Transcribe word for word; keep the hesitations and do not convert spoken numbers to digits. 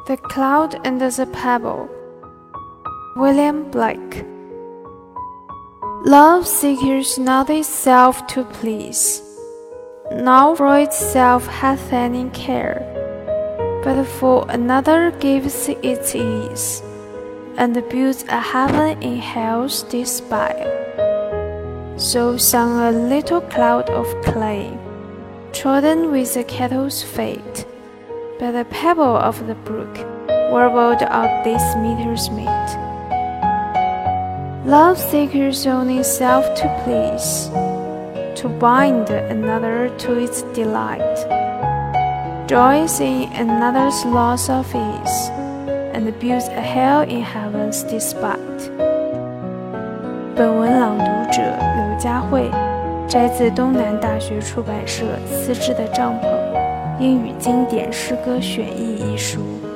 The Cloud and the Pebble, William Blake. Love seeks not itself to please, nor for itself hath any care, but for another gives its ease, and builds a heaven in hell's despair. So sang a little cloud of clay, trodden with the kettle's fate, by the pebble of the brook, warbled out this meter's mate. Love seeks only self to please, to bind another to its delight, joys in another's loss of ease, and builds a hell in heaven's despite. 本文朗读者刘佳慧，摘自东南大学出版社《辞职的帐篷：英语经典诗歌选译》一书。